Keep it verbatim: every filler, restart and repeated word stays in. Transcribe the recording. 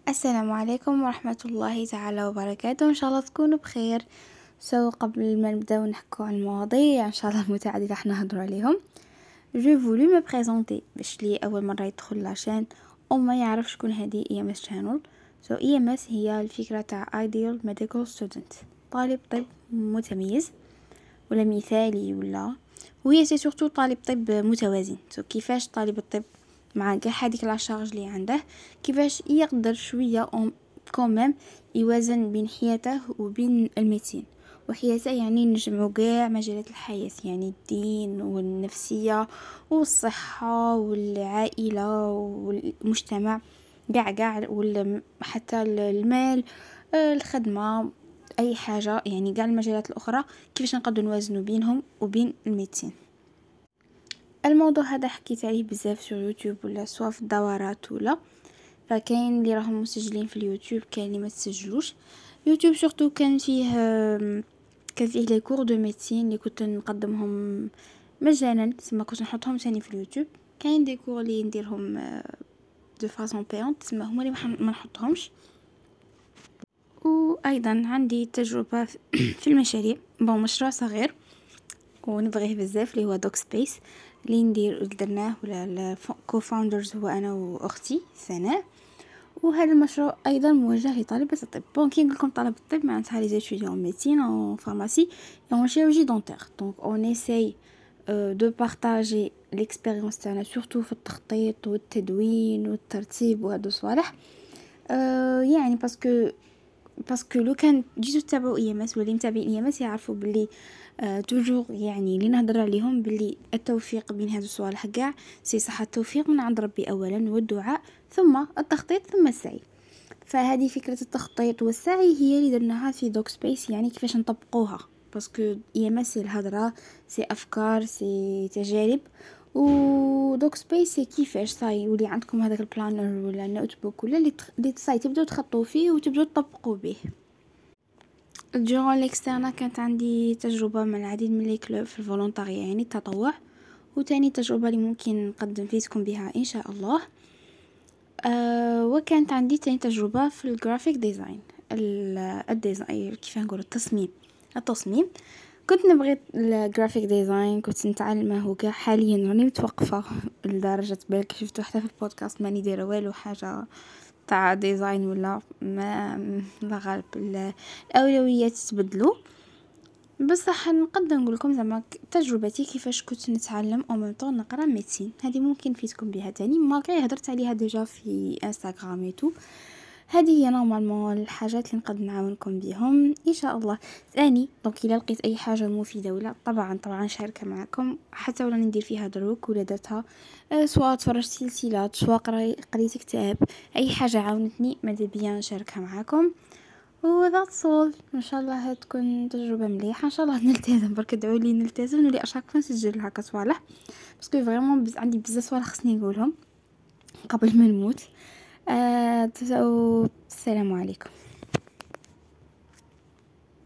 السلام عليكم ورحمة الله تعالى وبركاته. إن شاء الله تكونوا بخير. سو قبل ما نبداو نحكو عن المواضيع إن شاء الله متعددة احنا نهضروا عليهم، جو فولو مي بريزونتي باش لي أول مرة يدخل لاشين أو ما يعرف شكون هذه إي ام اس شانل. سو إي ام اس هي الفكرة تاع ideal medical student، طالب طب متميز ولا مثالي، ولا وهي سي سورتو طالب طب متوازن. سو كيفاش طالب الطب مع كاع هذيك لا شارج اللي عنده كيفاش يقدر شويه كوميم يوازن بين حياته وبين الميديسين. وحياته يعني نجمعوا كاع مجالات الحياة، يعني الدين والنفسية والصحة والعائلة والمجتمع، كاع كاع حتى المال، الخدمة، اي حاجة، يعني كاع المجالات الاخرى كيفاش نقدر نوازنوا بينهم وبين الميديسين. الموضوع هذا حكيت عليه بزاف في يوتيوب ولا سواء في الدورات، ولا فكاين اللي راهم مسجلين في اليوتيوب، كاين اللي ما تسجلوش. يوتيوب سورتو كان فيه كان فيه لي كور دو ميديسين اللي كنت نقدمهم مجانا، تسمى كنت نحطهم ثاني في اليوتيوب. كاين دي كور اللي نديرهم دو فاصون بيونت، تسمى هما اللي ما نحطهمش. وايضا عندي تجربه في المشاريع، بون مشروع صغير ونبغيه بزاف اللي هو دوك سبيس اللي ندير درناه ولا كو فاوندرز هو انا واختي سناء. وهذا المشروع ايضا موجه لطالبه الطب. بون كي نقول لكم طلبه الطب معناتها لي زيتيديون ميديسين او فارماسي او شيروجي دونتير. دونك اون ايساي دو بارطاجي ليكسبيريونس تاعنا سورتو في التخطيط والتدوين والترتيب وهذو صوالح. أه يعني باسكو باسكو لو كان جيتو تتابعوا اي ام اس ولا متابعين اي ام اس يعرفوا باللي أه توجور يعني اللي نهضر عليهم باللي التوفيق بين هذو الصوالح كاع سي صح. التوفيق من عند ربي اولا والدعاء، ثم التخطيط، ثم السعي. فهذه فكرة التخطيط والسعي هي اللي درناها في دوك سبيس، يعني كيفاش نطبقوها. باسكو اي ام اس الهضره سي افكار سي تجارب، و دوك سبيس سي كيفاش صاي يولي عندكم هذاك البلانر ولا نوت بوك ولا اللي تخ... اللي صاي تبداو تخططوا فيه وتبداو تطبقوا به. جون الاكسترنا كانت عندي تجربه مع العديد من لي كلوب في الفولونتاريا، يعني التطوع. وتاني تجربه اللي ممكن نقدم فيكم بها ان شاء الله. أه وكانت عندي تاني تجربة في الجرافيك ديزاين، الديزاين كيف نقول التصميم التصميم كنت نبغي الجرافيك ديزاين، كنت نتعلمه وكاع. حاليا راني متوقفة لدرجة بالك شفتوا حتى في البودكاست ماني دايره والو حاجة تاع ديزاين ولا ما لا غالب الاولويات تبدلوا. بصح نقدر نقول لكم زعما تجربتي كيفاش كنت نتعلم او ميم طون نقرا ميديسين، هذه ممكن فيتكم بها تاني ماغري هضرت عليها ديجا في انستغرام ايتو. هذه هي نورمالمون الحاجات اللي نقدر نعاونكم بهم ان شاء الله. ثاني دونك الا لقيت اي حاجه مفيده ولا طبعا طبعا نشاركها معكم، حتى ولا ندير فيها دروك ولا درتها أه سواء تفرجت سلسلات سواء قريت كتاب، اي حاجه عاونتني ماذا بيا نشاركها معكم. وذاتس اول. ان شاء الله تكون تجربه مليحه، ان شاء الله نلتزم. برك ادعوا لي نلتزم نولي اشاك نسجل هكا صوالح، باسكو فريمون بز عندي بزاف صوالح خصني نقولهم قبل ما نموت. آه السلام عليكم.